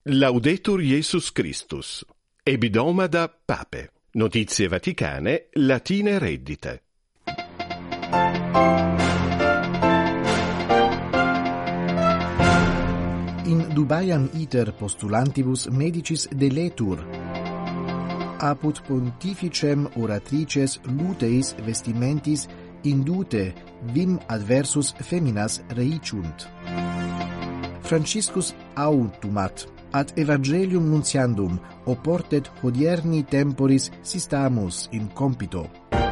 Laudetur Jesus Christus. Ebidomada Pape. Notizie Vaticane, latine reddite. In Dubaiam iter postulantibus medicis deletur. Apud pontificem oratrices luteis vestimentis indute vim adversus feminas reiciunt. Franciscus autumat ad evangelium nuntiandum oportet hodierni temporis sistamus in compito.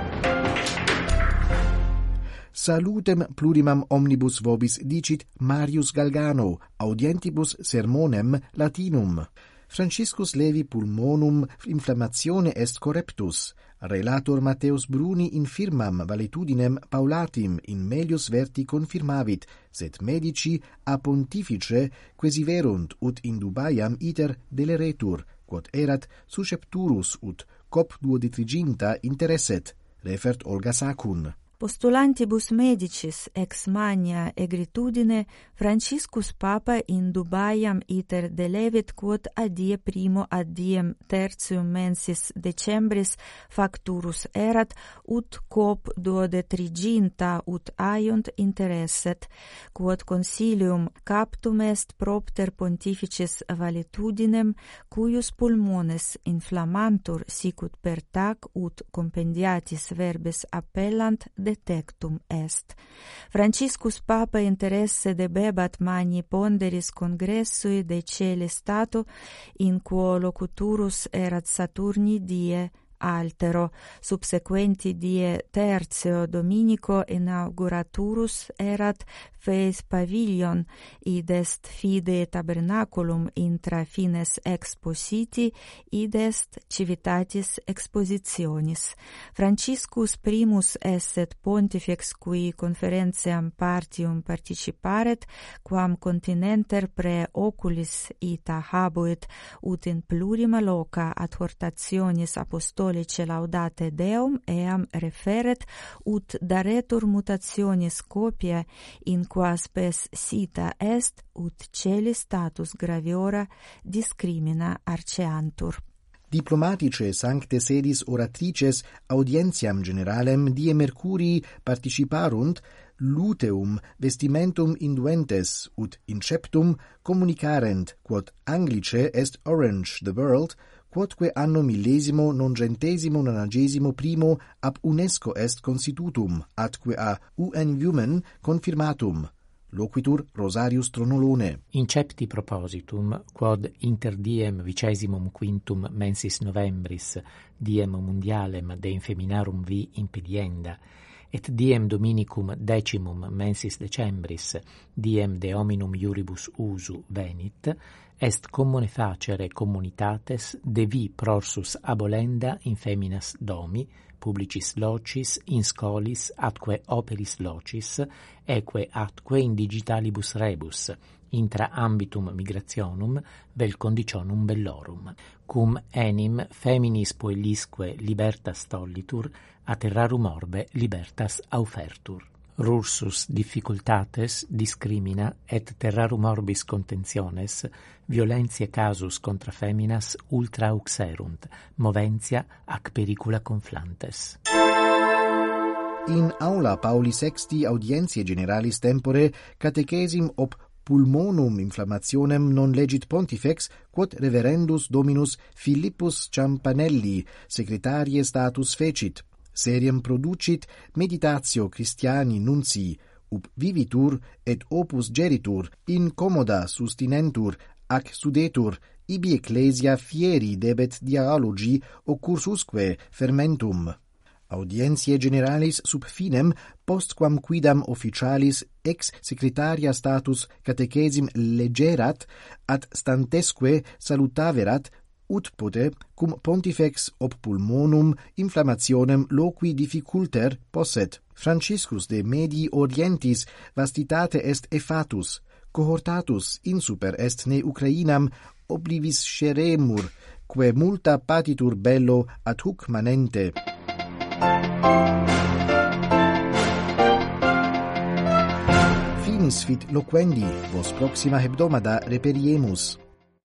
Salutem plurimam omnibus vobis dicit Marius Galgano, audientibus sermonem Latinum. Franciscus levi pulmonum inflammatione est correptus. Relator Matteus Bruni infirmam valetudinem Paulatim in melius verti confirmavit, sed medici a pontifice quesiverunt ut in Dubaiam iter deleretur, quod erat suscepturus ut cop duodetriginta interesset, refert Olga Sacun. Postulantibus medicis ex mania egritudine Franciscus Papa in Dubaiam iter delevit quod a die primo ad diem tertium mensis decembris facturus erat ut cop duodetriginta ut aiunt interesset, quod consilium captum est propter pontificis valetudinem cuius pulmones inflammantur sicut per tac ut compendiatis verbis appellant detectum est. Franciscus Papa interesse debebat magni ponderis congressui de celi stato in quo locuturus erat Saturni die altero, subsequenti die tertio dominico inauguraturus erat Feis Pavilion, id est fide tabernaculum intra fines expositi, id est civitatis expositionis. Franciscus primus esset pontifex cui conferentiam partium participaret, quam continenter pre oculis ita habuit, ut in plurima loca ad hortationis apostolice laudate Deum eam referet, ut daretur mutationis copia in qua spes sita est, ut celi status graviora discrimina arceantur. Diplomatice sancte sedis oratrices audientiam generalem die Mercurii participarunt luteum vestimentum induentes ut inceptum communicarent quod Anglice est orange the world, quodque anno 1991 ab UNESCO est constitutum, atque a UN Women confirmatum. Loquitur Rosarius Tronolone. Incepti propositum, quod inter diem 25 mensis novembris, diem mondialem de infeminarum vi impedienda, et diem dominicum 10 mensis decembris, diem de hominum iuribus usu venit, est commune facere communitates de vi prorsus abolenda in feminas domi, publicis locis, in scholis, atque operis locis, eque atque in digitalibus rebus, intra ambitum migrationum vel conditionum bellorum, cum enim feminis puellisque libertas tollitur, a terrarum orbe libertas aufertur. Rursus difficultates discrimina et terrarum orbis contentiones violentiae casus contra feminas ultra auxerunt, moventia ac pericula conflantes. In aula Pauli VI audientiae generalis tempore catechesim ob pulmonum inflammationem non legit pontifex, quod reverendus dominus Philippus Ciampanelli secretarie status fecit. Seriem producit meditatio Christiani nunci, up vivitur et opus geritur, in commoda sustinentur, ac sudetur, ibi ecclesia fieri debet dialogi occursusque fermentum. Audientiae generalis sub finem, postquam quidam officialis ex secretaria status catechesim legerat, ad stantesque salutaverat, ut pote, cum pontifex ob pulmonum inflammationem loqui difficulter posset. Franciscus de Medii Orientis vastitate est effatus, cohortatus insuper est ne Ucrainam oblivis sceremur, que multa patitur bello ad huc manente. Finis fit loquendi, vos proxima hebdomada reperiemus.